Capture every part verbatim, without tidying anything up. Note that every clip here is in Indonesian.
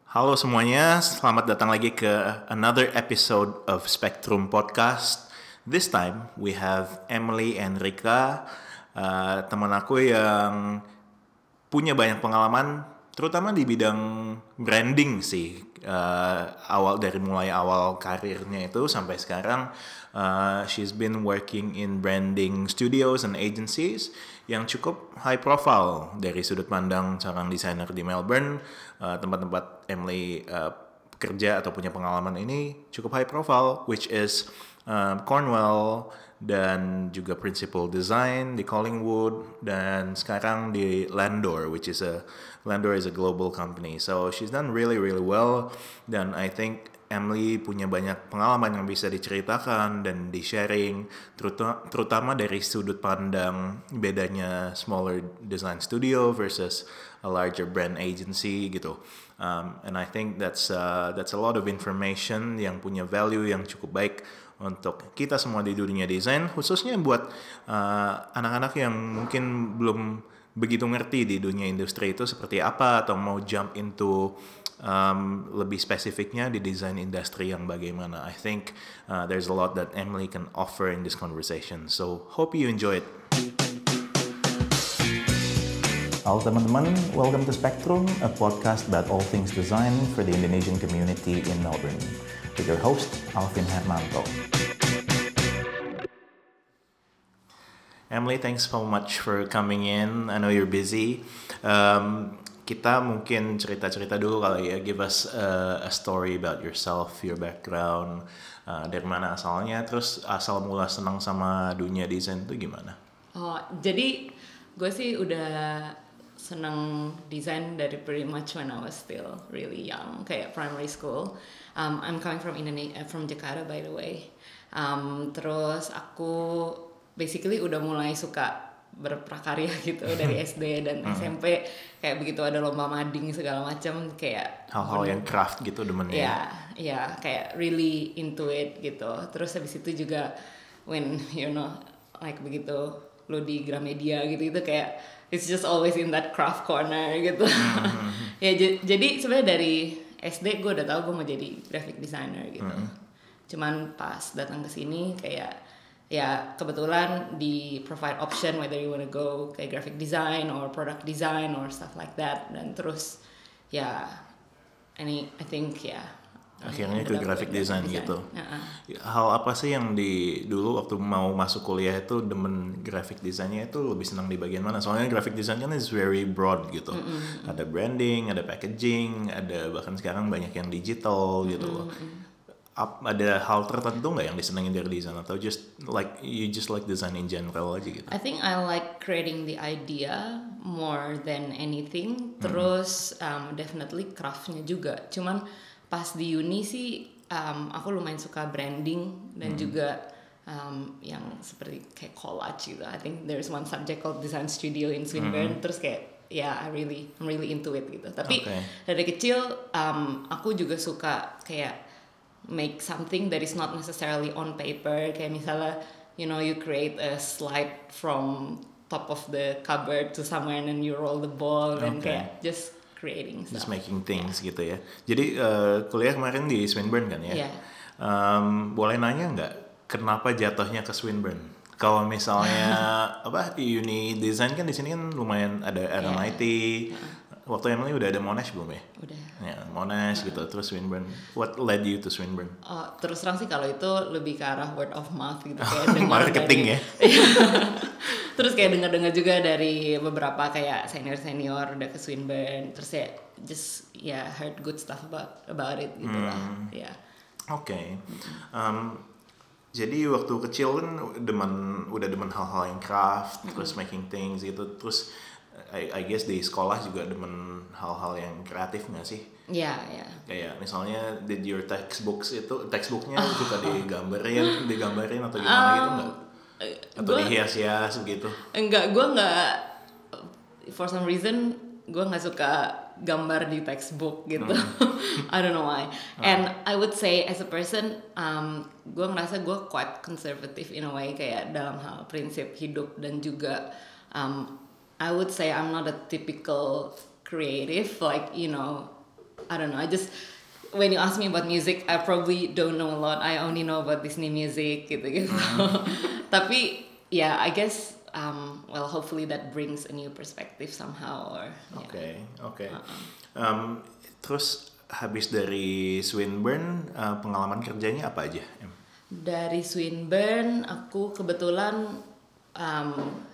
Halo semuanya, selamat datang lagi ke another episode of Spectrum Podcast. This time we have Emily and Rika, uh, teman aku yang punya banyak pengalaman, terutama di bidang branding sih. Uh, awal dari mulai awal karirnya itu sampai sekarang, uh, she's been working in branding studios and agencies yang cukup high profile dari sudut pandang seorang desainer di Melbourne, uh, tempat-tempat Emily uh, kerja atau punya pengalaman ini cukup high profile, which is um, Cornwall dan juga Principal Design di Collingwood dan sekarang di Landor, which is a Landor is a global company. So she's done really really well dan I think Emily punya banyak pengalaman yang bisa diceritakan dan di-sharing, terutama, terutama dari sudut pandang bedanya smaller design studio versus a larger brand agency gitu. Um, and I think that's uh, that's a lot of information yang punya value yang cukup baik untuk kita semua di dunia desain, khususnya buat uh, anak-anak yang mungkin belum begitu ngerti di dunia industri itu seperti apa atau mau jump into um, lebih spesifiknya di desain industri yang bagaimana. I think uh, there's a lot that Emily can offer in this conversation. So hope you enjoy it. Halo teman-teman, welcome to Spectrum, a podcast about all things design for the Indonesian community in Melbourne. With your host, Alvin Hermanto. Emily, thanks so much for coming in. I know you're busy. Um, kita mungkin cerita-cerita dulu kali ya. Give us a, a story about yourself, your background, uh, dari mana asalnya, terus asal mula senang sama dunia desain itu gimana? Oh, jadi gue sih udah senang desain dari pretty much when I was still really young, kayak primary school. Um, I'm coming from Indonesia, from Jakarta by the way. Um, terus aku basically udah mulai suka berprakarya gitu dari S D dan S M P, kayak begitu ada lomba mading segala macam, kayak hal-hal yang craft gitu demennya. Ya, ya kayak really into it gitu. Terus habis itu juga when you know like begitu lo di Gramedia gitu itu kayak it's just always in that craft corner gitu. Mm-hmm. ya j- jadi sebenarnya dari S D gue udah tahu gue mau jadi graphic designer gitu. Mm-hmm. Cuman pas datang ke sini kayak ya kebetulan di provide option whether you wanna go kayak graphic design or product design or stuff like that, dan terus ya ini I think ya akhirnya ke graphic design, design gitu. Uh-uh. Hal apa sih yang di dulu waktu mau masuk kuliah itu demen graphic designnya itu lebih senang di bagian mana? Soalnya graphic design kan is very broad gitu. Mm-hmm. Ada branding, ada packaging, ada bahkan sekarang banyak yang digital gitu loh. Mm-hmm. Ada hal tertentu nggak yang disenengin dari desain atau just like you just like design in general aja gitu? I think I like creating the idea more than anything. Terus um, definitely craftnya juga. Cuman pas di uni sih um, aku lumayan suka branding dan hmm. juga um, yang seperti kayak collage gitu. I think there's one subject called design studio in Swinburne. Hmm. Terus kayak ya yeah, I really I'm really into it gitu. Tapi okay. dari kecil um, aku juga suka kayak make something that is not necessarily on paper. Kayak misalnya you know you create a slide from top of the cupboard to somewhere and then you roll the ball okay. and kayak just creating stuff. Just making things yeah. gitu ya. Jadi uh, kuliah kemarin di Swinburne kan ya? Yeah. Um, boleh nanya nggak kenapa jatuhnya ke Swinburne? Kalau misalnya apa uni design kan di sini kan lumayan ada R M I T. Yeah. Uh-huh. Waktu Emily udah ada Monash belum ya? Udah. Ya, Monash uh-huh. gitu, terus Swinburne. What led you to Swinburne? Oh, terus terang sih kalau itu lebih ke arah word of mouth gitu kayak marketing dari, ya. Terus kayak dengar-dengar juga dari beberapa kayak senior-senior udah ke Swinburne, terus ya just ya yeah, heard good stuff about about it gitu hmm. lah. Ya. Yeah. Oke. Okay. Um, jadi waktu kecil kan demen udah demen hal-hal yang craft, mm-hmm. terus making things gitu, terus I, I guess di sekolah juga demen hal-hal yang kreatif nggak sih? Iya, yeah, iya. Yeah. Kayak misalnya did your textbooks itu textbooknya oh. suka digambarin, digambarin atau gimana um, gitu nggak? Atau gua, dihias-hias begitu? Enggak, gue nggak. For some reason gue nggak suka gambar di textbook gitu. Mm. I don't know why. Oh. And I would say as a person, um, gue ngerasa gue quite conservative in a way kayak dalam hal prinsip hidup dan juga um, I would say I'm not a typical creative, like you know I don't know. I just when you ask me about music, I probably don't know a lot. I only know about Disney music gitu-gitu. Tapi yeah, I guess um, well, hopefully that brings a new perspective somehow. Or Oke, okay, oke. Okay. Uh-uh. Um, terus habis dari Swinburne, uh, pengalaman kerjanya apa aja? Em? Dari Swinburne, aku kebetulan um,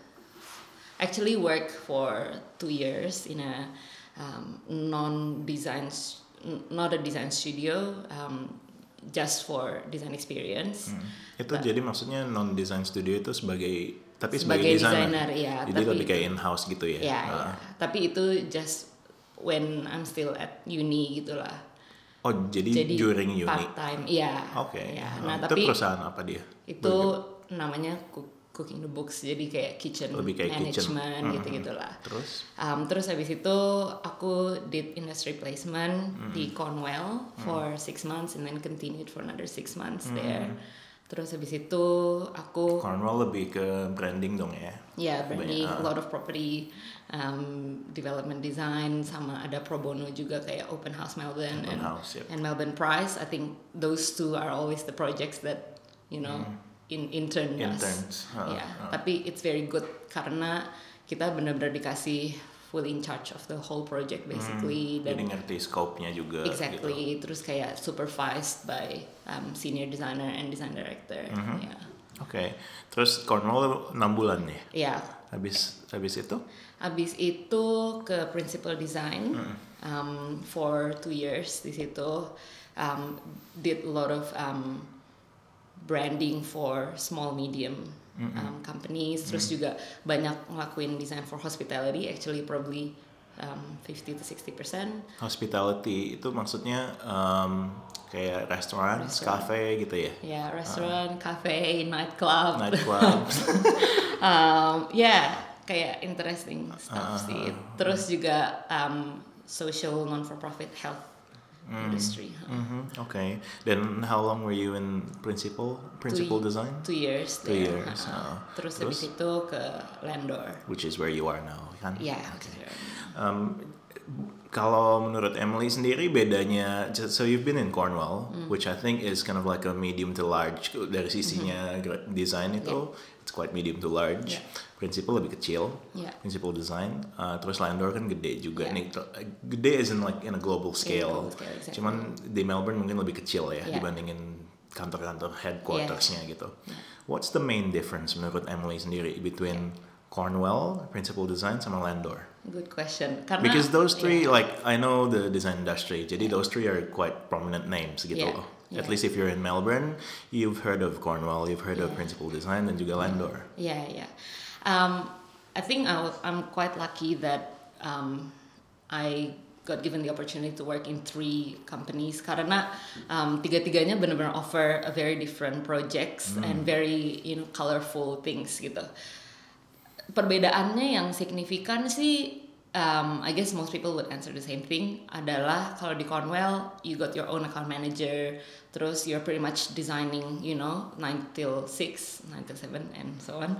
actually work for two years in a um, non-design, not a design studio, um, just for design experience. Hmm. Itu But, jadi maksudnya non-design studio itu sebagai tapi sebagai, sebagai designer, ya. Jadi tapi lebih kayak in-house gitu ya? Ya, uh. ya. Tapi itu just when I'm still at uni gitulah. Oh, jadi, jadi during uni? Part time, iya. Oke. Okay. Ya. Nah, nah, itu tapi perusahaan apa dia? Itu Burger. Namanya Cooking the Books, jadi kayak kitchen kayak management kitchen. gitu-gitulah. Terus? Um, terus habis itu aku did industry placement mm-hmm. di Cornwell for mm-hmm. six months and then continued for another six months mm-hmm. there. Terus habis itu aku Cornwell lebih ke branding dong ya? Ya, yeah, branding, uh. a lot of property um, development design, sama ada pro bono juga kayak Open House Melbourne Open and, House, yep. and Melbourne Prize. I think those two are always the projects that you know mm. in intern interns. Uh, yeah, uh. tapi it's very good karena kita benar-benar dikasih fully in charge of the whole project basically. Hmm, dan jadi ngerti scope-nya juga. Exactly. Gitu. Terus kayak supervised by um, senior designer and design director. Mm-hmm. Yeah. Oke. Okay. Terus Cornwall enam bulan nih. Iya. Yeah. Habis habis itu? Habis itu ke principal design mm. um, for two years di situ. Um, did a lot of um, branding for small medium Mm-hmm. Um, companies, terus mm-hmm. juga banyak ngelakuin design for hospitality, actually probably um, fifty to sixty percent. Hospitality itu maksudnya um, kayak restoran, cafe gitu ya? Ya, yeah, restoran, uh. cafe, nightclub. Nightclub. um, ya, yeah, kayak interesting stuff uh, sih. Terus uh, juga um, social non-for-profit health Mm. industry. Huh? Mm-hmm. Okay. Then how long were you in principal principal two, design? Two years. Two there. years. Uh-huh. Uh, terus, terus habis itu ke Landor. Which is where you are now, kan? Yeah. Okay. Um, kalau menurut Emily sendiri bedanya, so you've been in Cornwall, mm. which I think is kind of like a medium to large dari sisinya mm-hmm. design itu, yeah. it's quite medium to large. Yeah. Principal lebih kecil, yeah. principal design, uh, terus Landor kan gede juga. Yeah. Nih, gede is in like in a global scale. Global scale exactly. Cuman di Melbourne mungkin lebih kecil ya yeah. dibandingin kantor-kantor headquartersnya yeah. gitu. Yeah. What's the main difference menurut Emily sendiri between yeah. Cornwell, principal design, sama Landor? Good question. Karena, because those three, yeah. like I know the design industry, jadi yeah. those three are quite prominent names gitu yeah. loh. Yeah. At least if you're in Melbourne, you've heard of Cornwall, you've heard yeah. of principal design, dan juga Landor. Yeah, yeah. Um, I think I w- I'm quite lucky that um, I got given the opportunity to work in three companies karena um, tiga-tiganya benar-benar offer a very different projects mm. and very you know colorful things gitu. Perbedaannya yang signifikan sih, um, I guess most people would answer the same thing adalah kalau di Cornwell you got your own account manager, terus you're pretty much designing you know nine till six, nine till seven and so on.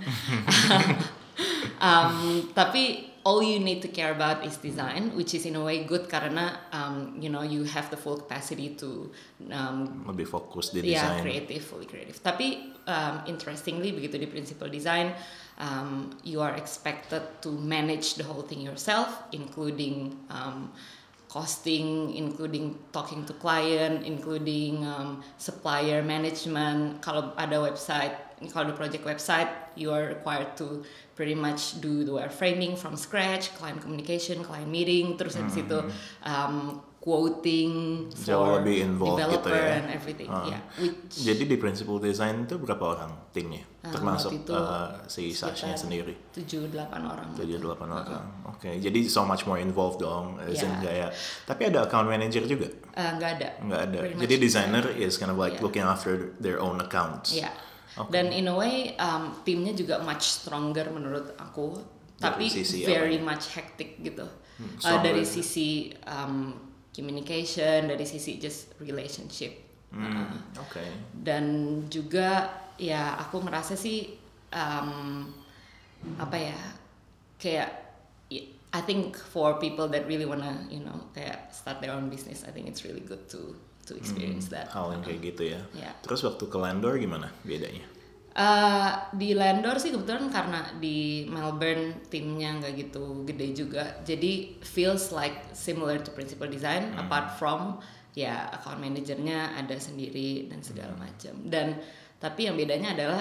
um, tapi all you need to care about is design, which is in a way good karena um, you know you have the full capacity to um, lebih fokus di yeah, design. creative, fully creative. Tapi um, interestingly begitu di principal design, um, you are expected to manage the whole thing yourself, including um, costing, including talking to client, including um, supplier management. Kalau ada website, kalau ada project website, you are required to pretty much do the wireframing from scratch, client communication, client meeting, terus habis mm-hmm. itu um, quoting jauh for lebih involved developer gitu ya. and everything. Uh, yeah, which, jadi di principal design itu berapa orang timnya? Uh, Termasuk uh, si Sashnya sendiri? tujuh delapan orang. tujuh delapan orang. Uh-huh. Oke, okay. Jadi so much more involved dong. Yeah. Kayak, tapi ada account manager juga? Uh, nggak ada. Nggak ada. Jadi designer is kind of like yeah. looking after their own accounts. Yeah. Okay. Dan in a way um, timnya juga much stronger menurut aku, dari tapi very apa? much hectic gitu. Hmm, uh, dari sisi um, communication, dari sisi just relationship. Hmm, uh, Oke. Okay. Dan juga ya aku merasa sih um, apa ya kayak I think for people that really wanna, you know, kayak start their own business, I think it's really good to to experience Hmm, that. hal yang kayak gitu ya. Ya. Terus waktu ke Landor gimana bedanya? Uh, di Landor sih kebetulan karena di Melbourne timnya nggak gitu gede juga, jadi feels like similar to Principal Design, Hmm. apart from ya account manajernya ada sendiri dan segala macam. Dan tapi yang bedanya adalah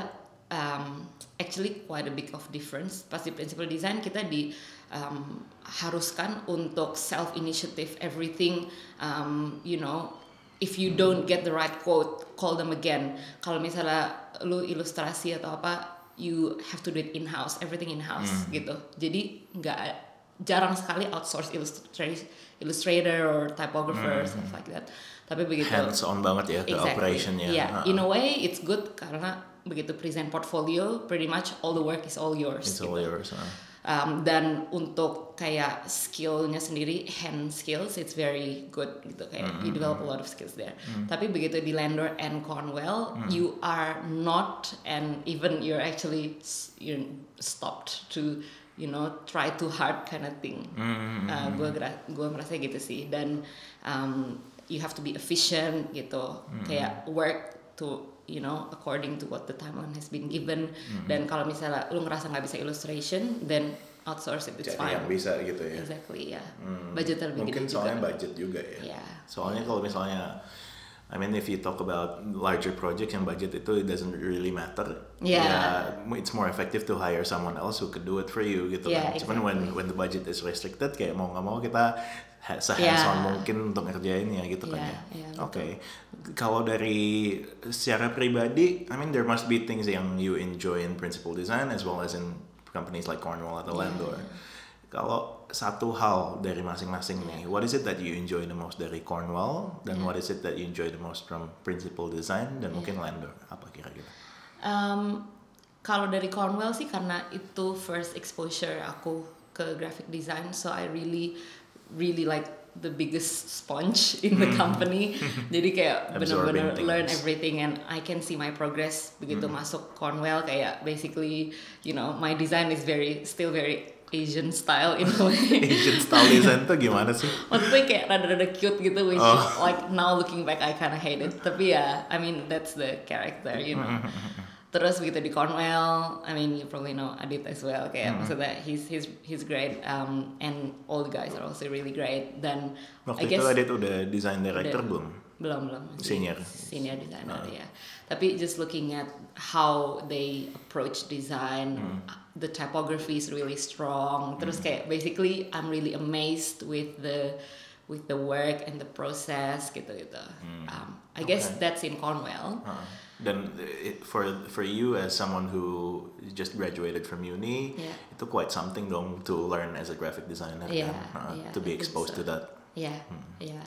um, actually quite a big of difference. Pas di Principal Design kita di um, haruskan untuk self initiative everything, um, you know. If you don't get the right quote, call them again. Kalau misalnya lu ilustrasi atau apa, you have to do it in house, everything in house Hmm. gitu. Jadi nggak jarang sekali outsource illustrator, illustrator or typographer Hmm. stuff like that. Tapi begitu Hands on banget ya ke exactly. operationnya. Yeah, Ha. in a way it's good karena begitu present portfolio, pretty much all the work is all yours. It's gitu. all yours. Ha. Um, dan untuk kayak skillnya sendiri, hand skills, it's very good gitu, kayak Mm-hmm. you develop a lot of skills there. Tapi begitu di Landor and Cornwell, Mm. you are not, and even you're actually you're stopped to, you know, try too hard kind of thing. Mm-hmm. Uh, gue gue merasa gitu sih. Dan um, you have to be efficient gitu, Mm-hmm. kayak work to, you know, according to what the timeline has been given. Mm-hmm. Dan kalau misalnya lu ngerasa nggak bisa illustration, then outsource it, it's Jadi fine. yang bisa gitu ya. Exactly, ya. Hmm. Budget lebih Mungkin gede soalnya juga. budget juga ya. Yeah. Soalnya kalau misalnya, I mean if you talk about larger projects yang budget itu it doesn't really matter. Yeah. Ya, it's more effective to hire someone else who could do it for you gitu Yeah, kan. Cuman when exactly. when the budget is restricted kayak mau nggak mau kita ha- se-hands-on Yeah. mungkin untuk ngerjain ya gitu kan Yeah, ya. yeah, Oke. Kalau dari secara pribadi, I mean there must be things yang you enjoy in Principal Design as well as in companies like Cornwall atau Yeah. Landor. Kalau satu hal dari masing-masing nih, what is it that you enjoy the most dari Cornwall dan Yeah. what is it that you enjoy the most from Principal Design dan mungkin Landor? Apa kira-kira? Um, kalau dari Cornwell sih karena itu first exposure aku ke graphic design, so I really really like the biggest sponge in the company. Jadi kayak Absorbing benar-benar things. learn everything and I can see my progress begitu masuk Cornwell, kayak basically, you know, my design is very still very Asian style in a way. Asian style design tuh gimana sih? Maksudnya kayak rada-rada cute gitu, which Oh. like now looking back I kinda hate it. Tapi ya, I mean that's the character, you know. Terus begitu di Cornwell, I mean you probably know Adit as well. Kayak maksudnya he's he's he's great, um, and all the guys are also really great. Dan Waktu I itu guess Adit udah design director udah- belum? belum belum masih Senior. senior designer Ah. ya. Tapi just looking at how they approach design, Hmm. the typography is really strong. Terus kayak basically I'm really amazed with the with the work and the process gitu gitu. Um, I guess Okay. that's in Cornwell. Uh, dan it, for for you as someone who just graduated from uni, Yeah. itu quite something dong to learn as a graphic designer Yeah, kan? Uh, yeah, to be I think exposed so. to that. Ya, ya.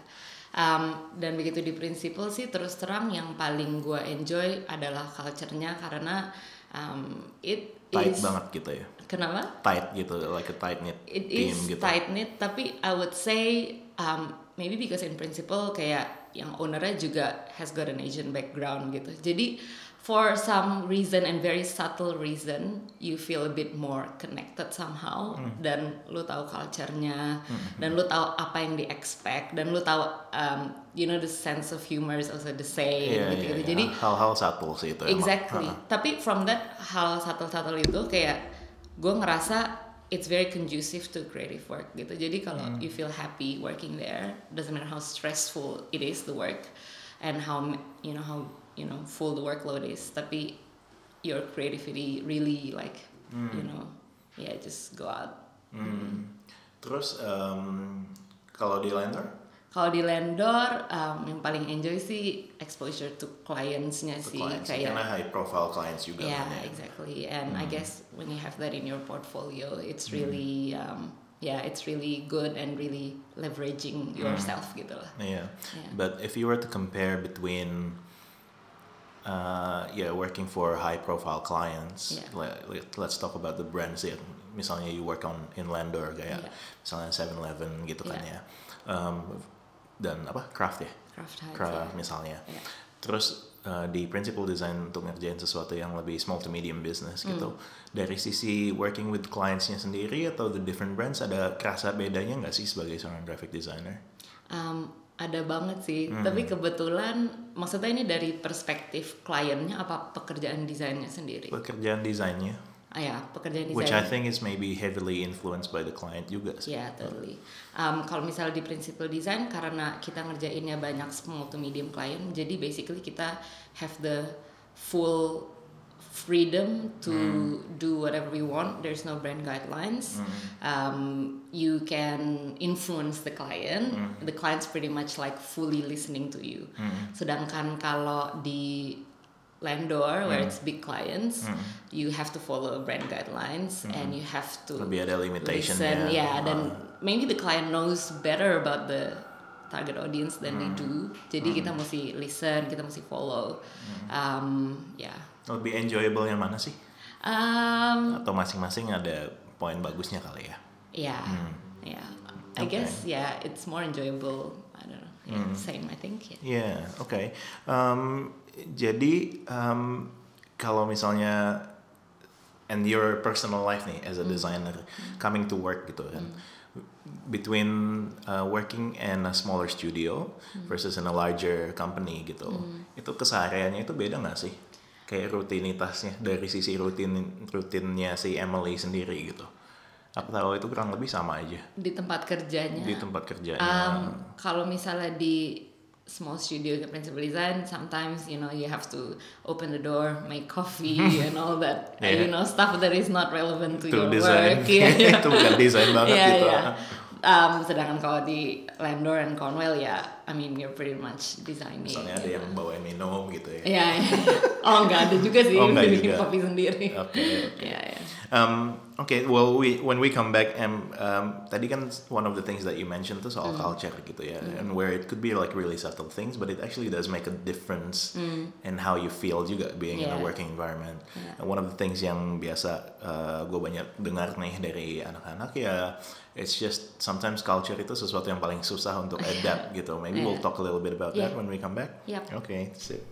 Um, dan begitu di Principal sih terus terang yang paling gue enjoy adalah culture-nya karena um, it Tight is banget gitu ya. kenapa? Tight gitu, like a tight knit It team is gitu. tight knit, tapi I would say um, maybe because in Principal kayak yang ownernya juga has got an Asian background gitu. Jadi for some reason and very subtle reason you feel a bit more connected somehow, dan lu tahu culture-nya, dan lu tahu apa yang di expect, dan lu tahu um, you know the sense of humor is also the same Iya, gitu, iya, iya. Jadi hal-hal subtle sih itu emang. exactly. Uh-uh. Tapi from that hal subtle-subtle itu kayak gue ngerasa it's very conducive to creative work gitu. Jadi kalau you feel happy working there, doesn't matter how stressful it is the work and how you know how you know full the workload is. Tapi your creativity really like you know yeah just go out. Hmm. Terus um, kalau di Landor? Kalau di Landor um, yang paling enjoy sih exposure to clients-nya To sih clients, kayak karena high profile clients juga yeah, kan ya. exactly. And I guess when you have that in your portfolio, it's really, um, yeah, it's really good and really leveraging yourself gitu lah. Yeah. Yeah. But if you were to compare between uh, yeah, working for high profile clients, Yeah. let, let- let's talk about the brands yang misalnya you work on in Landor kayak Yeah. misalnya seven eleven gitu kan Yeah. ya. Um, dan apa? Craft ya? Craft Heights. Craft yeah. misalnya. Yeah. terus uh, di principal design untuk ngerjain sesuatu yang lebih small to medium business gitu. Hmm. Dari sisi working with clients-nya sendiri atau the different brands, ada kerasa bedanya nggak sih sebagai seorang graphic designer? Um, ada banget sih, Hmm. tapi kebetulan maksudnya ini dari perspektif kliennya apa pekerjaan desainnya sendiri? Pekerjaan desainnya, Ah ya, pekerjaan which I desain. think is maybe heavily influenced by the client juga sih. Ya, totally. Um, kalau misalnya di principal design, karena kita ngerjainnya banyak small to medium client, jadi basically kita have the full freedom to do whatever we want. There's no brand guidelines. Um, you can influence the client. The client's pretty much like fully listening to you. Sedangkan kalau di Landor, where it's big clients, you have to follow brand guidelines and you have to Lebih ada limitation listen. ya. Yeah, dan maybe the client knows better about the target audience than we do. Jadi kita mesti listen, kita mesti follow. Um, ya. Yeah. Lebih enjoyable yang mana sih? Um, Atau masing-masing ada poin bagusnya kali ya? yeah, yeah. I Okay. guess yeah, it's more enjoyable. I don't know. Yeah, same I think. Yeah. Yeah, oke. Okay. Um, jadi um, kalau misalnya and your personal life nih as a designer coming to work gitu kan, between uh, working in a smaller studio versus in a larger company gitu, itu kesehariannya itu beda nggak sih? Kayak rutinitasnya dari sisi rutin rutinnya si Emily sendiri gitu. Aku tahu itu kurang lebih sama aja Di tempat kerjanya. di tempat kerjanya. Um, kalau misalnya di small studio ke principal design, sometimes you know you have to open the door, make coffee and all that, Yeah. you know, stuff that is not relevant to, To your design. work. Yeah. Itu bukan desain banget Yeah, gitu. yeah. Um, sedangkan kalau di Landor and Cornwell ya, I mean you're pretty much designing. Misalnya ada you yang know. bawain minum gitu ya. Iya, iya. Oh nggak ada juga sih, Oh, nggak bikin juga. kopi sendiri. Oke. Iya, iya. Um, okay, well, we when we come back, um, um, tadi kan one of the things that you mentioned tuh soal culture gitu ya, and where it could be like really subtle things, but it actually does make a difference in how you feel juga being in a Yeah. working environment. Yeah. And one of the things yang biasa uh, gue banyak dengar nih dari anak-anak ya, it's just sometimes culture itu sesuatu yang paling susah untuk adapt gitu. Maybe we'll Yeah. talk a little bit about that Yeah. when we come back. Yep. Okay, sip.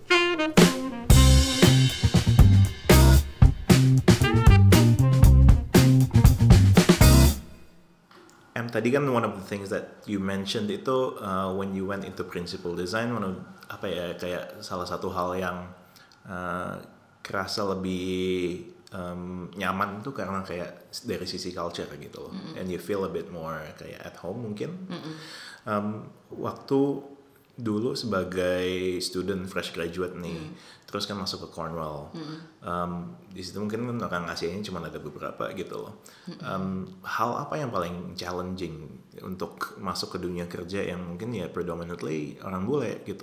Em, tadi kan one of the things that you mentioned itu uh, when you went into principal design, one of, apa ya kayak salah satu hal yang uh, kerasa lebih um, nyaman tuh karena kayak dari sisi culture gitu loh, mm-hmm. and you feel a bit more kayak at home mungkin. Mm-hmm. Um, waktu dulu sebagai student fresh graduate nih, mm. terus kan masuk ke Cornwell. Mm. Um, di situ mungkin orang Asianya cuma ada beberapa gitu loh. Um, hal apa yang paling challenging untuk masuk ke dunia kerja yang mungkin ya predominantly orang bule gitu?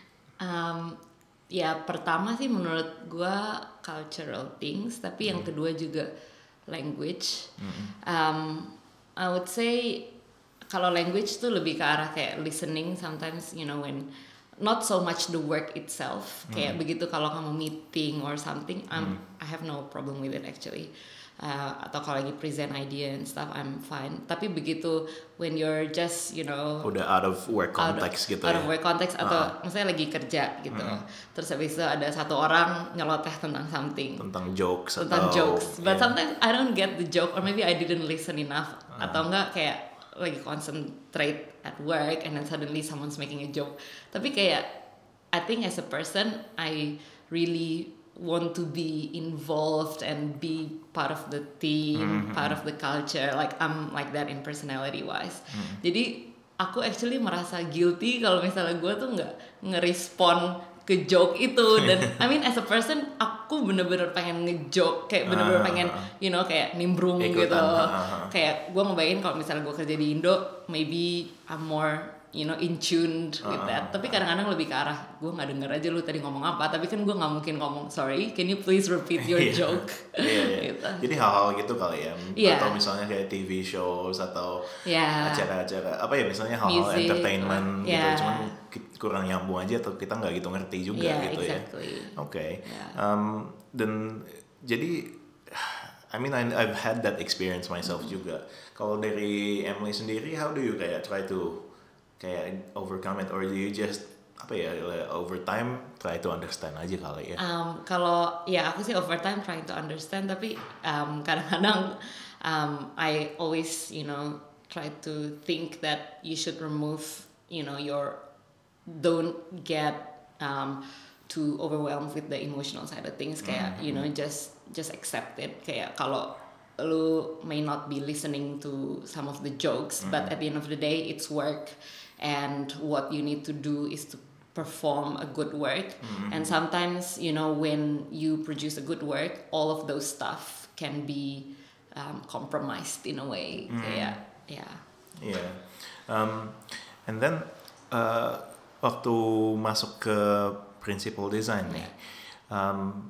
Um, ya pertama sih menurut gua cultural things, tapi yang kedua juga language. Um, I would say kalau language tuh lebih ke arah kayak listening sometimes, you know, when not so much the work itself. Kayak begitu kalau kamu meeting or something, I'm I have no problem with it actually. Uh, atau kalau lagi present idea and stuff, I'm fine. Tapi begitu when you're just, you know, Udah out of work out of, context gitu out ya. of work context atau maksudnya lagi kerja gitu. Terus habis itu ada satu orang nyeloteh tentang something. Tentang jokes tentang atau jokes, but yeah. sometimes I don't get the joke or maybe I didn't listen enough atau enggak kayak lagi concentrate at work and then suddenly someone's making a joke. Tapi kayak I think as a person I really want to be involved and be part of the team, part of the culture. Like I'm like that in personality wise. Jadi aku actually merasa guilty kalau misalnya gue tuh nggak ngerespon ke joke itu, dan I mean as a person aku bener-bener pengen ngejoke, kayak bener-bener pengen you know kayak nimbrung Ikutan, gitu. ha, ha, ha. Kayak gue ngebayangin kalau misalnya gue kerja di Indo, maybe I'm more you know in tune with that. Tapi kadang-kadang lebih ke arah gue nggak denger aja lu tadi ngomong apa, tapi kan gue nggak mungkin ngomong sorry, can you please repeat your Iya. joke? Iya, iya. Gitu. Jadi hal-hal gitu kali ya. Iya. Atau misalnya kayak T V shows atau Iya. acara-acara apa ya misalnya hal-hal Music, entertainment gitu. iya. Cuman ki- kurang nyambung aja atau kita nggak gitu ngerti juga Yeah, gitu exactly. ya. Oke. Okay. Yeah. Um, dan jadi I mean I, I've had that experience myself Mm-hmm. juga. Kalau dari Emily sendiri, how do you kayak try to kayak overcome it, or do you just apa ya, over time try to understand aja kali ya. Um, kalau ya aku sih over time trying to understand, tapi um, kadang-kadang um, I always you know try to think that you should remove you know your don't get um, too overwhelmed with the emotional side of things. Kayak mm-hmm. you know just just accept it. Kayak kalau lu may not be listening to some of the jokes, mm-hmm. but at the end of the day it's work, and what you need to do is to perform a good work. Mm-hmm. And sometimes you know when you produce a good work, all of those stuff can be um, compromised in a way. Mm-hmm. Kayak yeah. Yeah. Um, and then uh, waktu masuk ke principal design nih, um,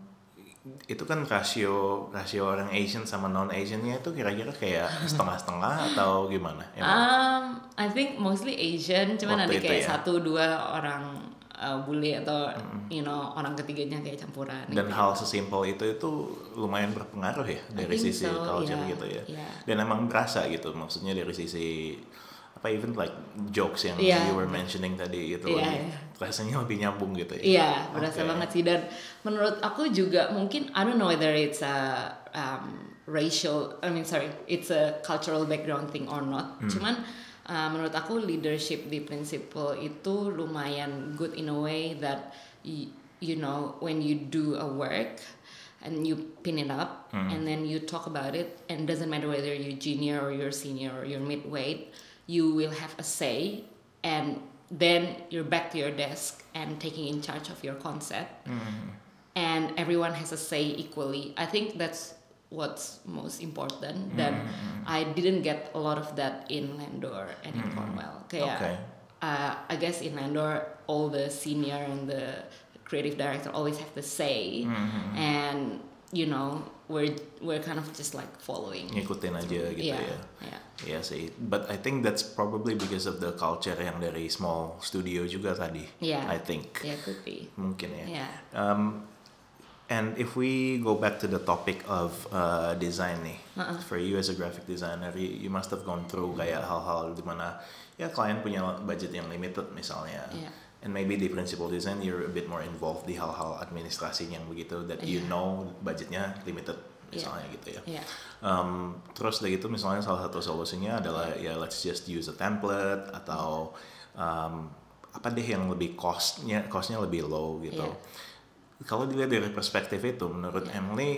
itu kan rasio rasio orang Asian sama non Asiannya itu kira-kira kayak setengah-setengah atau gimana? Um, I think mostly Asian, cuman ada kayak ya? satu dua orang uh, bule atau mm-hmm. you know orang ketiganya kayak campuran. Dan gitu. hal sesimpel itu itu lumayan berpengaruh ya dari sisi so, culture yeah, gitu ya. Yeah. Dan emang berasa gitu, maksudnya dari sisi apa even like jokes yang yeah. you were mentioning tadi gitu, yeah, lebih, yeah. rasanya lebih nyambung gitu ya. Iya, yeah, berasa okay. banget sih, dan menurut aku juga mungkin I don't know whether it's a um, racial, I mean sorry, it's a cultural background thing or not. Hmm. Cuman uh, menurut aku leadership di Principal itu lumayan good in a way that y- you know when you do a work and you pin it up hmm. and then you talk about it, and it doesn't matter whether you're junior or you're senior or you're midweight, you will have a say, and then you're back to your desk and taking in charge of your concept, mm-hmm. and everyone has a say equally. I think that's what's most important. Then mm-hmm. I didn't get a lot of that in Landor and in mm-hmm. Cornwell. Kayak, okay. uh, I guess in Landor all the senior and the creative director always have the say, mm-hmm. and you know we're we're kind of just like following. Ngikutin aja gitu yeah, ya. Yeah. Iya sih, but I think that's probably because of the culture yang dari small studio juga tadi. Yeah. I think. Yeah, could be. Mungkin ya. Yeah. Um, and if we go back to the topic of uh, design nih, uh-uh. for you as a graphic designer, you, you must have gone through kayak hal-hal dimana ya klien punya budget yang limited misalnya. Yeah. And maybe di principal design you're a bit more involved di hal-hal administrasi yang begitu that yeah. you know budgetnya limited misalnya yeah. gitu ya. Yeah. Um, terus dari itu misalnya salah satu solusinya adalah ya let's just use a template atau um, apa deh yang lebih costnya costnya lebih low gitu. Yeah. Kalau dilihat dari perspektif itu, menurut yeah. Emily,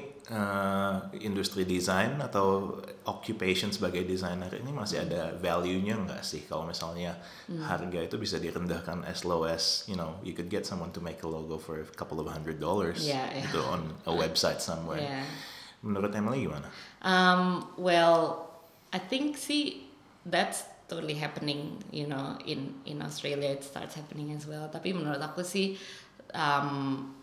uh, industri desain atau occupation sebagai desainer ini masih mm. ada value-nya nggak sih? Kalau misalnya mm. harga itu bisa direndahkan as low as, you know, you could get someone to make a logo for a couple of hundred dollars yeah, yeah. gitu on a website somewhere. Yeah. Menurut Emily gimana? Um, well, I think sih that's totally happening, you know, in in Australia it starts happening as well. Tapi menurut aku sih. Um,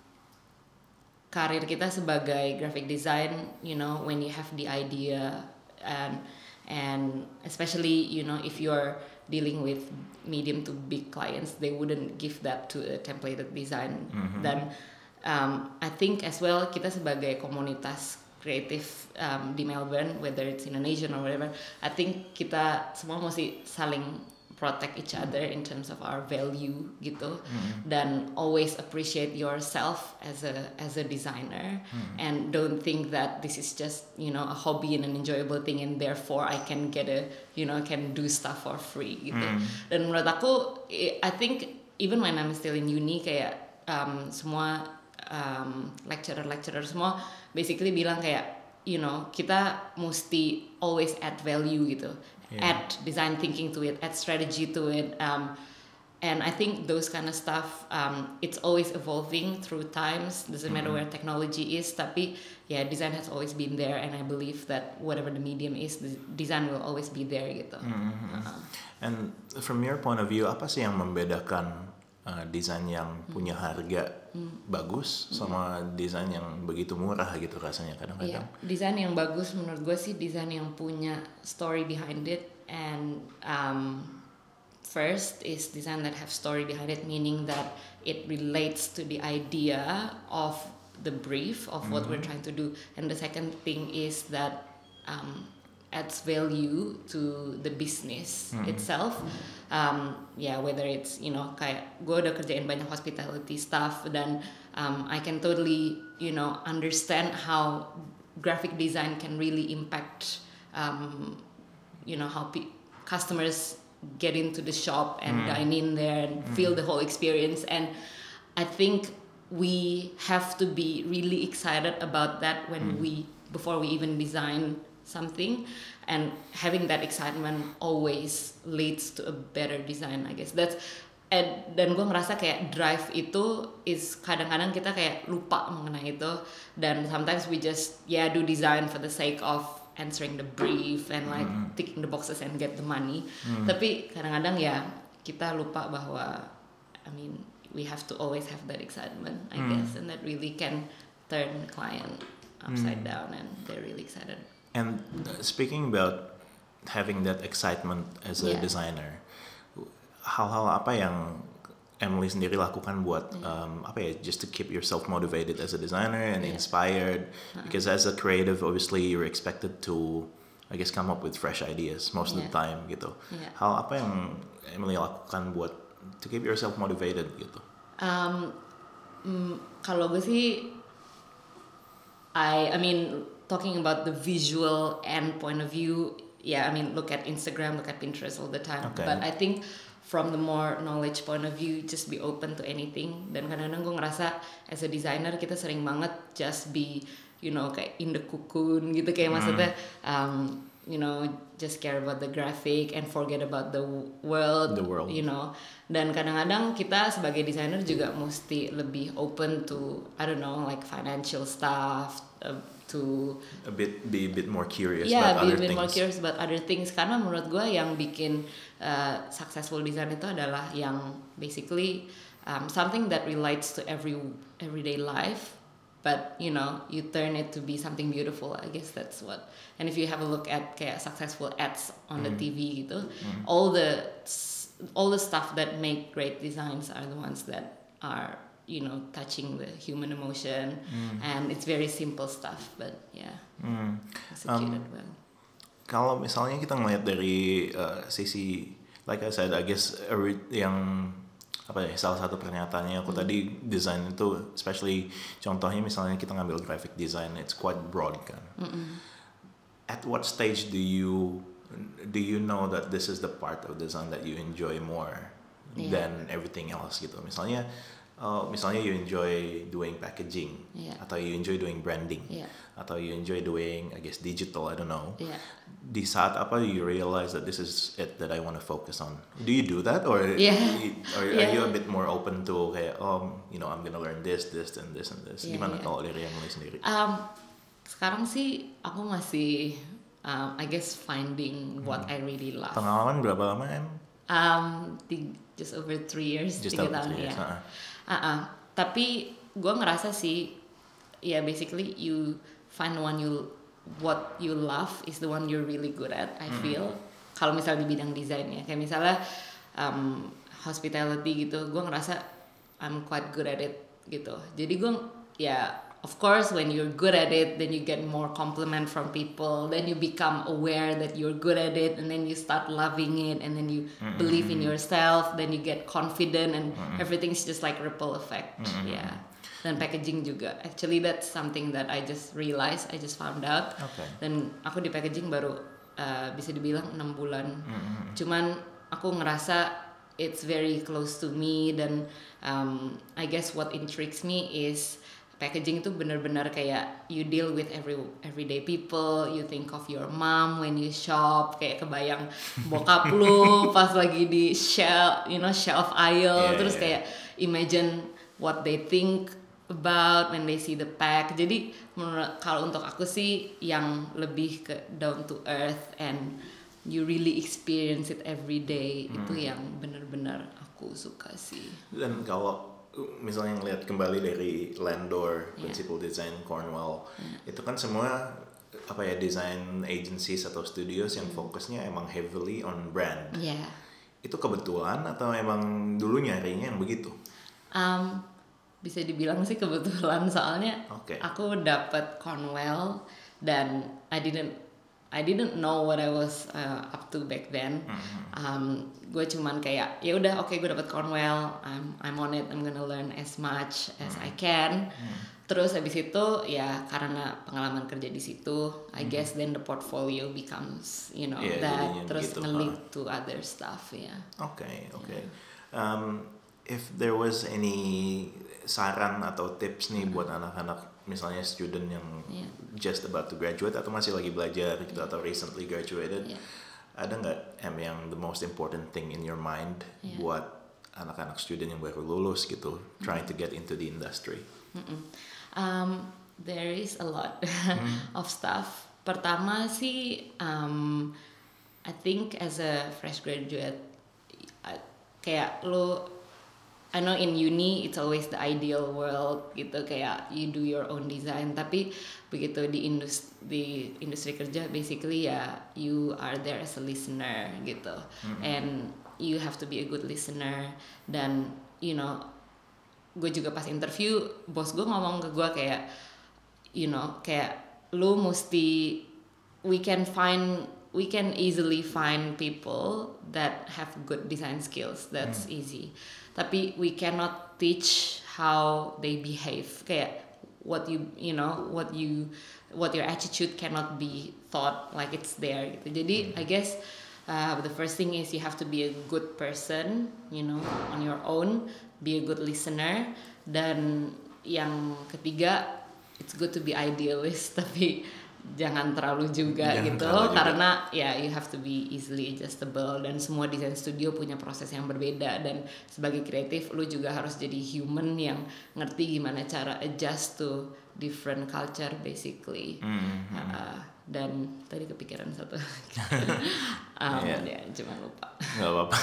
karir kita sebagai graphic design, you know, when you have the idea and and especially, you know, if you're dealing with medium to big clients, they wouldn't give that to a templated design. Mm-hmm. Dan um, I think as well kita sebagai komunitas kreatif um, di Melbourne, whether it's Indonesian or whatever, I think kita semua mesti saling protect each other in terms of our value gitu, mm-hmm. dan always appreciate yourself as a as a designer, mm-hmm. and don't think that this is just, you know, a hobby and an enjoyable thing and therefore I can get a, you know, can do stuff for free gitu. Mm-hmm. Dan menurut aku I think even when I'm still in uni kayak um, semua um, lecturer-lecturer semua basically bilang kayak, you know, kita mesti always add value gitu. Yeah. Add design thinking to it, add strategy to it, um, and I think those kind of stuff, um, it's always evolving through times. Doesn't mm-hmm. matter where technology is, tapi yeah, design has always been there, and I believe that whatever the medium is, the design will always be there gitu. Mm-hmm. Uh-huh. And from your point of view, apa sih yang membedakan uh, desain yang punya harga mm. bagus sama mm. desain yang begitu murah gitu rasanya kadang-kadang? Yeah. Desain yang bagus menurut gue sih desain yang punya story behind it, and um, first is design that have story behind it, meaning that it relates to the idea of the brief of what mm-hmm. we're trying to do, and the second thing is that um, adds value to the business Hmm. itself. Um, yeah, whether it's you know kayak gue udah kerjain banyak hospitality stuff dan um, I can totally you know understand how graphic design can really impact um, you know how pe- customers get into the shop and Hmm. dine in there and feel the whole experience. And I think we have to be really excited about that when Hmm. we before we even design something, and having that excitement always leads to a better design, I guess. That's and dan gue ngerasa kayak drive itu is kadang-kadang kita kayak lupa mengenai itu, dan sometimes we just yeah do design for the sake of answering the brief and like Hmm. ticking the boxes and get the money. Hmm. Tapi kadang-kadang ya kita lupa bahwa I mean we have to always have that excitement, I Hmm. guess, and that really can turn client upside Hmm. down and they're really excited. And uh, speaking about having that excitement as a Yeah. designer, hal-hal apa yang Emily sendiri lakukan buat um, apa ya, just to keep yourself motivated as a designer and Yeah. inspired? Because as a creative, obviously you're expected to, I guess, come up with fresh ideas most of the Yeah. time gitu. Yeah. Hal apa yang Emily lakukan buat to keep yourself motivated gitu? Um, mm, kalau gue sih, I I mean talking about the visual end point of view, yeah, I mean look at Instagram, look at Pinterest all the time. Okay. But I think from the more knowledge point of view, just be open to anything. Dan kadang-kadang gue ngerasa as a designer kita sering banget just be, you know, kayak in the cocoon gitu, kayak Hmm. maksudnya, um, you know, just care about the graphic and forget about the world, The world. you know. Dan kadang-kadang kita sebagai designer juga mesti lebih open to, I don't know, like financial stuff, uh, to A bit, be a bit more curious yeah, about be other a bit things. more curious about other things. Karena menurut gue yang bikin uh, successful design itu adalah yang basically um, something that relates to every everyday life, but you know you turn it to be something beautiful. I guess that's what. And if you have a look at kayak successful ads on the Mm. T V gitu, Mm. all the all the stuff that make great designs are the ones that are you know touching the human emotion, Mm. and it's very simple stuff, but yeah, Mm. executed Um, well. Kalau misalnya kita ngeliat dari uh, sisi, like I said, I guess ori- yang apa ya, salah satu pernyataannya aku Hmm. tadi, design itu, especially contohnya misalnya kita ngambil graphic design, it's quite broad kan. Mm-mm. At what stage do you do you know that this is the part of design that you enjoy more Yeah. than everything else gitu? Misalnya, uh, misalnya you enjoy doing packaging, Yeah. atau you enjoy doing branding, Yeah. atau you enjoy doing, I guess, digital, I don't know. Yeah. Di saat apa you realize that this is it that I want to focus on? Do you do that, or Yeah. or are Yeah. you a bit more open to kayak, oh, you know, I'm gonna learn this, this, and this, and this? Yeah, Gimana yeah. kalau dari Emily sendiri? Um, sekarang sih aku masih, um, I guess finding what I really love. Pengalaman berapa lama em? Um, tig- just over three years, Just tiga over tahun three years, ya. uh-uh. Uh-uh. Tapi gue ngerasa sih, ya basically you find one you what you love is the one you're really good at. I feel kalau misalnya di bidang desain ya, kayak misalnya um, hospitality gitu, gue ngerasa I'm quite good at it gitu. Jadi gue ya of course when you're good at it, then you get more compliment from people, then you become aware that you're good at it, and then you start loving it, and then you Mm-mm. believe in yourself, then you get confident, and everything's just like ripple effect. Mm-mm. Yeah. Dan packaging juga. Actually that's something that I just realized, I just found out. Okay. Dan aku di packaging baru uh, bisa dibilang enam bulan. Mm-mm. Cuman aku ngerasa it's very close to me, dan um, I guess what intrigues me is packaging itu benar-benar kayak you deal with every everyday people, you think of your mom when you shop, kayak kebayang bokap lu pas lagi di shelf, you know, shelf aisle, Yeah, terus yeah. kayak imagine what they think about when they see the pack. Jadi menurut kalau untuk aku sih yang lebih ke down to earth and you really experience it every day, itu yang benar-benar aku suka sih. Dan kalau misalnya ngelihat kembali dari Landor, Yeah. Principal Design Cornwall, itu kan semua apa ya, design agencies atau studios yang fokusnya emang heavily on brand. Yeah. Itu kebetulan atau emang dulu nyarinya yang begitu? Um, bisa dibilang sih kebetulan, soalnya Oke. aku dapat Cornwell dan I didn't I didn't know what I was uh, up to back then. Mm-hmm. Um, gue cuman kayak ya udah oke okay, gue dapet Cornwell, I'm I'm on it, I'm gonna learn as much as mm-hmm. I can. Mm-hmm. Terus habis itu ya karena pengalaman kerja di situ, I mm-hmm. guess then the portfolio becomes you know yeah, that terus nge-lead huh? to other stuff ya. Yeah. Oke okay, oke. Okay. Yeah. Um, if there was any saran atau tips nih mm-hmm. buat anak-anak misalnya student yang yeah. just about to graduate atau masih lagi belajar gitu yeah. atau recently graduated, yeah. ada nggak em yang the most important thing in your mind yeah. buat anak-anak student yang baru lulus gitu, mm-hmm. trying to get into the industry? Mm-hmm. Um, there is a lot mm-hmm. of stuff. Pertama sih, um, I think as a fresh graduate, kayak lo I know in uni it's always the ideal world gitu, kayak you do your own design, tapi begitu di industri di industri kerja basically ya you are there as a listener gitu, mm-hmm. and you have to be a good listener. Dan you know gue juga pas interview bos gue ngomong ke gue kayak you know kayak lu mesti we can find we can easily find people that have good design skills, that's mm. easy. Tapi we cannot teach how they behave. Kayak what you you know what you what your attitude cannot be taught like it's there gitu. Jadi mm. I guess uh, the first thing is you have to be a good person, you know, on your own, be a good listener. Dan yang ketiga, it's good to be idealist tapi jangan terlalu juga jangan gitu terlalu karena juga. Ya you have to be easily adjustable dan semua desain studio punya proses yang berbeda, dan sebagai kreatif lu juga harus jadi human yang ngerti gimana cara adjust to different culture basically. Mm-hmm. uh, dan tadi kepikiran satu um, yeah. ya cuma lupa nggak apa-apa.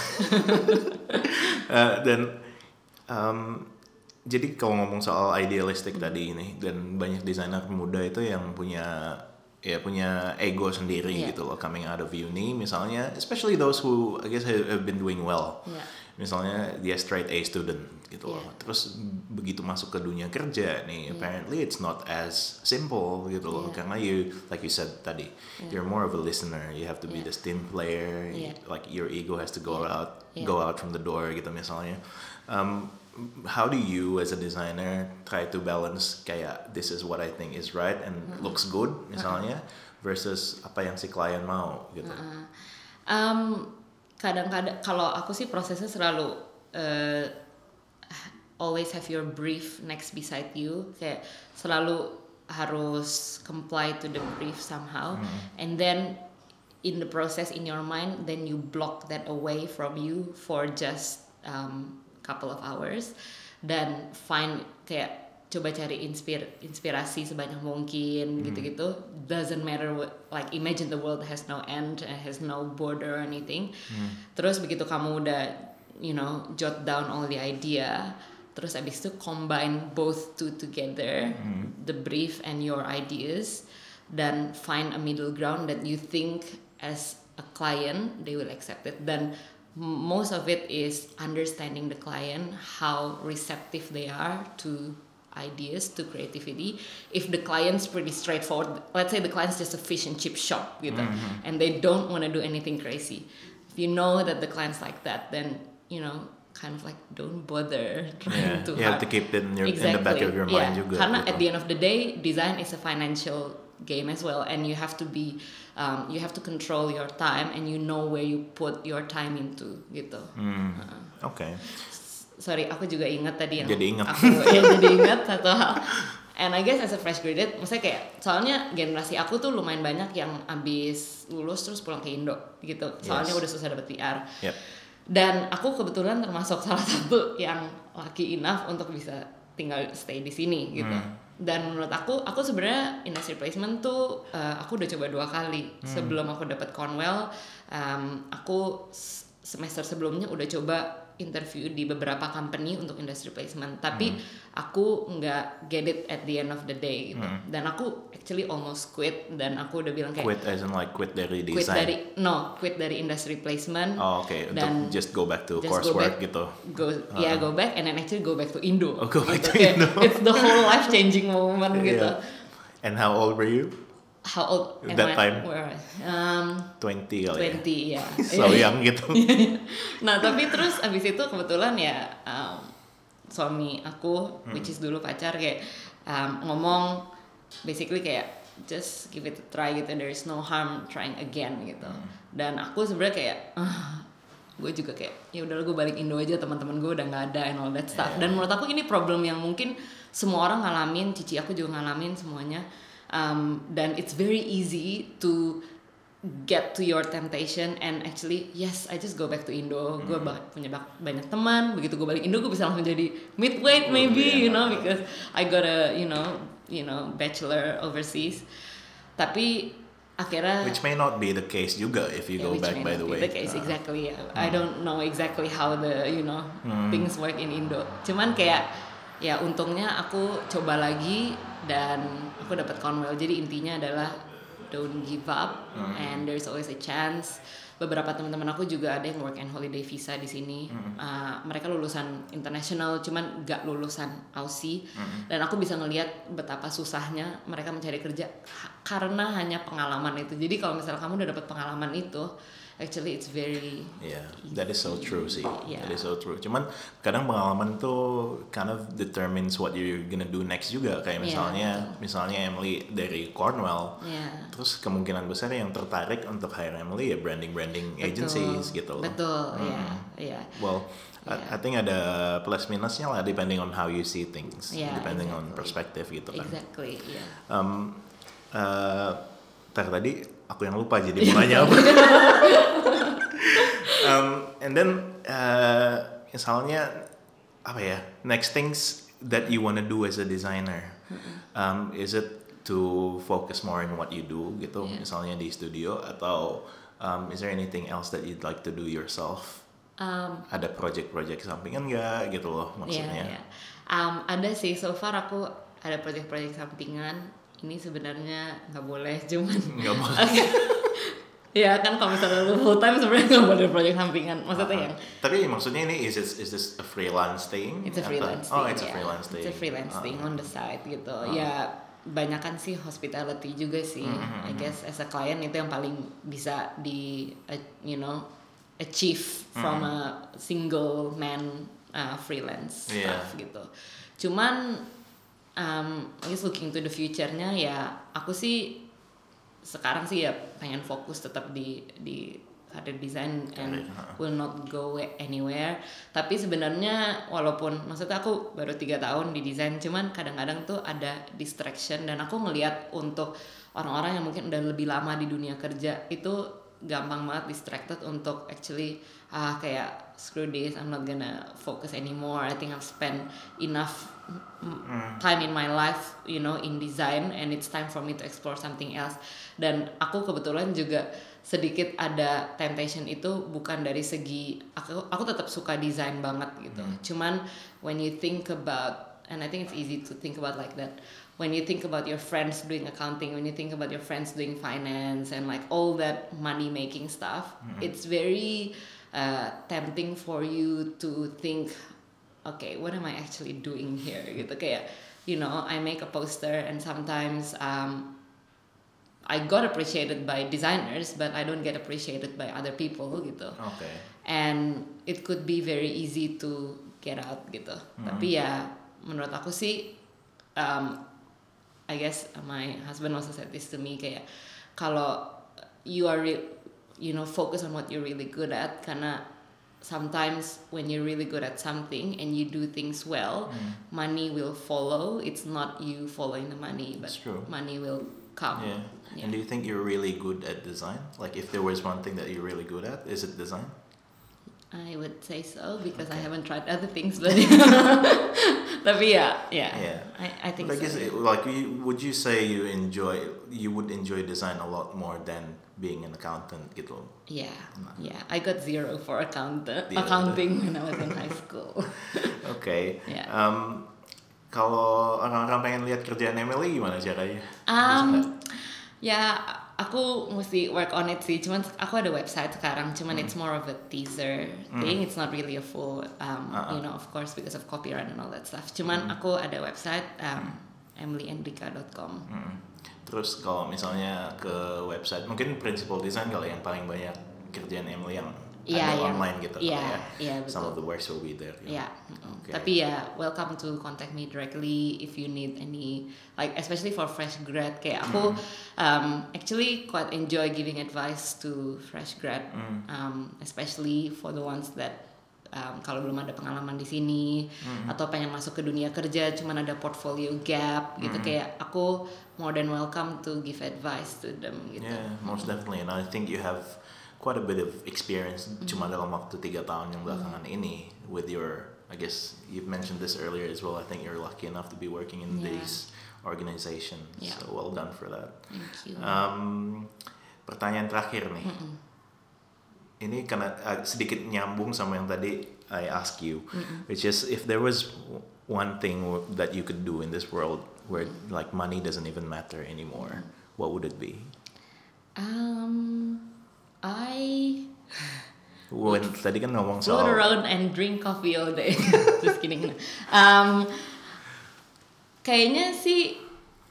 uh, dan um, jadi kalau ngomong soal idealistic mm-hmm. tadi ini, dan banyak desainer muda itu yang punya ya punya ego sendiri yeah. gitu loh, coming out of uni misalnya, especially those who I guess have been doing well. Yeah. Misalnya dia straight A student gitu yeah. loh. Terus begitu masuk ke dunia kerja nih, yeah. apparently it's not as simple gitu loh, yeah. karena you like you said tadi, yeah. you're more of a listener. You have to be yeah. the team player. Yeah. Like your ego has to go yeah. out, yeah. go out from the door gitu misalnya. Um, How do you as a designer try to balance kayak this is what I think is right and mm-hmm. looks good misalnya uh-huh. versus apa yang si klien mau gitu? Uh-huh. Um, kadang-kadang kalau aku sih prosesnya selalu uh, always have your brief next beside you, kayak selalu harus comply to the brief somehow, mm-hmm. and then in the process in your mind then you block that away from you for just um, couple of hours dan find kayak coba cari inspir inspirasi sebanyak mungkin hmm. gitu-gitu. Doesn't matter what, like imagine the world has no end, has no border or anything. Hmm. Terus begitu kamu udah you know jot down all the idea, terus abis itu combine both two together, hmm. the brief and your ideas, dan find a middle ground that you think as a client they will accept it. Dan most of it is understanding the client, how receptive they are to ideas, to creativity. If the client's pretty straightforward, let's say the client's just a fish and chip shop gitu, mm-hmm. and they don't want to do anything crazy. If you know that the client's like that, then you know kind of like don't bother trying yeah, too you hard. have to keep it in, your, exactly. in the back of your mind yeah. juga. Karena gitu. At the end of the day, design is a financial game as well, and you have to be um, you have to control your time and you know where you put your time into gitu. Mm. Uh, Oke. Okay. Sorry, aku juga ingat tadi yang jadi ingat. aku ya jadi ingat satu hal. And I guess as a fresh graduate, maksudnya kayak soalnya generasi aku tuh lumayan banyak yang abis lulus terus pulang ke Indo gitu. Soalnya yes. udah susah dapet P R. Yep. Dan aku kebetulan termasuk salah satu yang lucky enough untuk bisa tinggal stay di sini gitu. Mm. Dan menurut aku, aku sebenarnya industry placement tuh uh, aku udah coba dua kali. Hmm. Sebelum aku dapat Cornwell, um, aku semester sebelumnya udah coba interview di beberapa company untuk industry placement, tapi hmm. aku nggak get it at the end of the day gitu. Hmm. Dan aku actually almost quit, dan aku udah bilang kayak quit as in like quit dari design. Quit dari no, quit dari industry placement. Oh, oke. Okay. Untuk just go back to coursework gitu. Go, uh-huh. yeah, go back and then actually go back to Indo. Oh, go back gitu. to Indo. It's the whole life changing moment yeah. gitu. And how old were you? how old am That I? time? Where? Um, twenty kali twenty ya. So young gitu. Nah tapi terus abis itu kebetulan ya um, suami aku, Hmm. which is dulu pacar kayak um, ngomong basically kayak just give it a try gitu, there is no harm trying again gitu. Hmm. Dan aku sebenarnya kayak uh, gue juga kayak ya udahlah gue balik Indo aja, teman-teman gue udah nggak ada and all that stuff. Yeah. Dan menurut aku ini problem yang mungkin semua orang ngalamin, cici aku juga ngalamin semuanya. Um, dan it's very easy to get to your temptation and actually yes I just go back to Indo. Hmm. Gue ba- punya ba- banyak teman, begitu gue balik Indo gue bisa langsung jadi midweight maybe, yeah. you know, because I got a you know you know bachelor overseas. Tapi akhirnya Which may not be the case juga if you yeah, go which back may by not the be way. the case, Uh, exactly. Yeah. I don't know exactly how the you know Hmm. things work in Indo. Cuman kayak ya untungnya aku coba lagi dan aku dapat Cornwell. Jadi intinya adalah don't give up Hmm. and there's always a chance. Beberapa teman-teman aku juga ada yang work and holiday visa di sini. Hmm. Uh, mereka lulusan international, cuman gak lulusan Aussie. Hmm. Dan aku bisa ngelihat betapa susahnya mereka mencari kerja ha- karena hanya pengalaman itu. Jadi kalau misalnya kamu udah dapat pengalaman itu, actually it's very Yeah, that is so true sih. Yeah. That is so true. Cuman kadang pengalaman tuh kind of determines what you're gonna do next juga. Kayak Yeah, misalnya, betul. misalnya Emily dari Cornwell, yeah. terus kemungkinan besar yang tertarik untuk hire Emily ya branding-branding Betul. agencies gitu loh. Betul, Hmm. ya, ya. Well, I, Yeah. I think ada plus minusnya lah depending on how you see things, Yeah, depending on exactly. perspective gitu kan. Exactly, ya. Um, uh, tar tadi aku yang lupa jadi mau nanya apa. um, and then uh, misalnya apa ya, next things that you wanna do as a designer, um, is it to focus more on what you do gitu, Yeah. misalnya di studio, atau um, is there anything else that you'd like to do yourself? Um, Ada project-project sampingan nggak gitu loh maksudnya? ya, ya. Um, ada sih, so far aku ada project-project sampingan. Ini sebenarnya nggak boleh, cuman Nggak boleh. ya kan kalau misalnya lu full time sebenarnya nggak boleh project sampingan. Maksudnya Uh-huh. yang Tapi maksudnya ini is this, is this a freelance thing? it's a Atau- freelance Oh, thing, it's a ya. freelance thing. It's a freelance Uh-huh. thing on the side gitu. Uh. Ya banyakan sih hospitality juga sih. Mm-hmm. I guess as a client itu yang paling bisa di uh, you know achieve from a single man uh, freelance Yeah. stuff gitu. Cuman um, I guess looking to the future-nya ya aku sih sekarang sih ya pengen fokus tetap di di karir desain and Karir, ha. will not go anywhere. Tapi sebenarnya walaupun maksudnya aku baru tiga tahun di desain, cuman kadang-kadang tuh ada distraction dan aku ngelihat untuk orang-orang yang mungkin udah lebih lama di dunia kerja itu gampang banget distracted untuk actually ah kayak screw this, I'm not gonna focus anymore. I think I've spent enough mm, time in my life, you know, in design and it's time for me to explore something else. Dan aku kebetulan juga sedikit ada temptation itu bukan dari segi aku aku tetap suka desain banget gitu. Cuman when you think about, and I think it's easy to think about like that. When you think about your friends doing accounting, when you think about your friends doing finance and like all that money making stuff, it's very uh, tempting for you to think, okay, what am I actually doing here? Gitu kayak, you know, I make a poster and sometimes um, I got appreciated by designers, but I don't get appreciated by other people gitu. Okay. And it could be very easy to get out gitu. Tapi ya menurut aku sih, um, I guess my husband also said this to me kayak kalau you are re- you know focus on what you're really good at, karena sometimes when you're really good at something and you do things well, money will follow. It's not you following the money, but That's true. money will come. Yeah. Yeah. And do you think you're really good at design? Like if there was one thing that you're really good at, is it design? I would say so because I Okay. haven't tried other things, but tapi ya, yeah, Yeah. I, I think But I so. guess it- like you, would you say you enjoy you would enjoy design a lot more than being an accountant gitu? Yeah, yeah. I got zero for account Yeah. accounting when I was in high school. Okay. Yeah. Um, kalau orang-orang pengen lihat kerjaan Emily gimana caranya? Bisa Um, nggak? ya, aku mesti work on it sih. Cuman aku ada website sekarang. Cuman it's more of a teaser thing. It's not really a full, um, Uh-uh. you know, of course because of copyright and all that stuff. Cuman aku ada website um, emily enrica dot com. Mm. Terus kalau misalnya ke website, mungkin Principal Design kalau yang paling banyak kerjaan Emily yang yeah, ada yang, online gitu yeah, ya. Yeah, Some of the works will be there. Yeah. Okay. Tapi ya, welcome to contact me directly if you need any, like especially for fresh grad. Kayak aku mm. um, actually quite enjoy giving advice to fresh grad, mm. um, especially for the ones that Um, kalau belum ada pengalaman di sini mm. atau pengen masuk ke dunia kerja cuman ada portfolio gap gitu, mm. kayak aku more than welcome to give advice to them gitu. Yeah, most definitely, and I think you have quite a bit of experience mm. cuma dalam waktu tiga tahun yang belakangan mm. ini with your, I guess you've mentioned this earlier as well, I think you're lucky enough to be working in yeah. these organizations, yeah. so well done for that. Thank you. Um, pertanyaan terakhir nih. Mm-mm. Ini karena uh, sedikit nyambung sama yang tadi I ask you, mm-hmm. which is if there was one thing w- that you could do in this world where mm-hmm. like money doesn't even matter anymore, mm-hmm. what would it be? Um, I. When tadi kan ngomong soal. Float around and drink coffee all day. Just kidding. Um, kayaknya sih,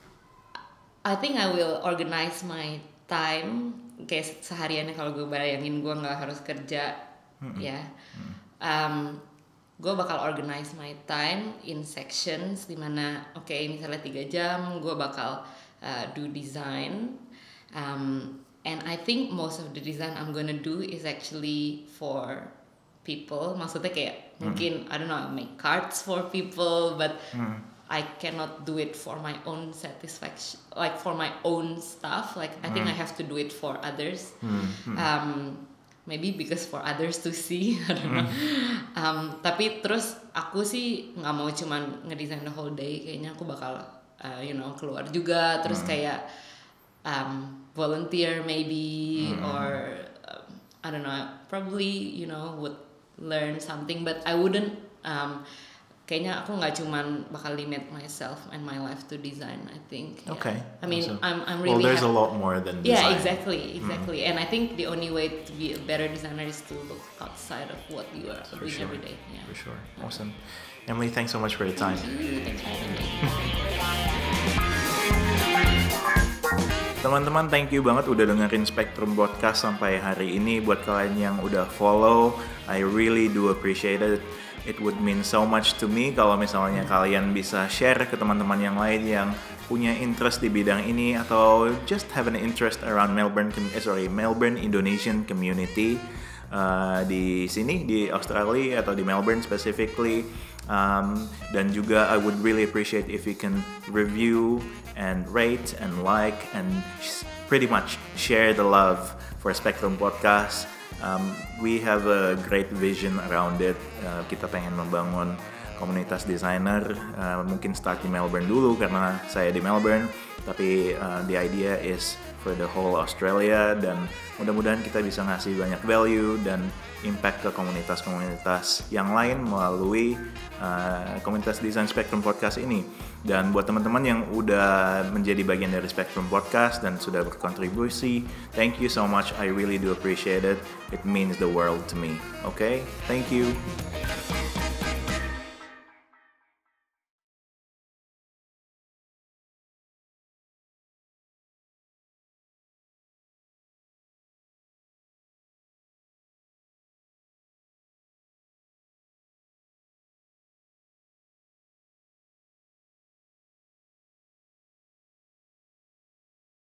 I think I will organize my time. Kayak sehariannya kalau gue bayangin gue nggak harus kerja, mm-hmm. ya, um, gue bakal organize my time in sections dimana, oke okay, misalnya tiga jam gue bakal uh, do design, um, and I think most of the design I'm gonna do is actually for people. Maksudnya kayak mm-hmm. mungkin I don't know, make cards for people, but mm-hmm. I cannot do it for my own satisfaction, like for my own stuff. Like I think mm. I have to do it for others. Mm. Um, maybe because for others to see, I don't know. Mm. Um, tapi terus aku sih nggak mau cuman ngedesain the whole day. Kayaknya aku bakal, uh, you know, keluar juga. Terus mm. kayak um, volunteer maybe, mm. or um, I don't know. Probably, you know, would learn something, but I wouldn't. Um, Kayaknya aku nggak cuman bakal limit myself and my life to design. I think. Okay. Yeah. I mean, so, I'm I'm really. Well, there's happy. a lot more than design. Yeah, exactly, exactly. Mm. And I think the only way to be a better designer is to look outside of what you are For doing sure. every day. Yeah. For sure. Awesome. Emily, thanks so much for your time. Thank you. Thanks for having me. Teman-teman, thank you banget udah dengerin Spectrum Podcast sampai hari ini. Buat kalian yang udah follow, I really do appreciate it. It would mean so much to me kalau misalnya kalian bisa share ke teman-teman yang lain yang punya interest di bidang ini atau just have an interest around Melbourne, eh, sorry, Melbourne Indonesian community uh, di sini di Australia atau di Melbourne specifically. Um, dan juga I would really appreciate if you can review and rate and like and sh- pretty much share the love for Spectrum Podcast. Um, we have a great vision around it. Uh, kita pengen membangun komunitas desainer. Uh, mungkin start di Melbourne dulu karena saya di Melbourne. Tapi uh, the idea is for the whole Australia, dan mudah-mudahan kita bisa ngasih banyak value dan impact ke komunitas-komunitas yang lain melalui uh, komunitas desain Spectrum Podcast ini. Dan buat teman-teman yang udah menjadi bagian dari Spectrum Podcast dan sudah berkontribusi, thank you so much. I really do appreciate it. It means the world to me. Okay? Thank you.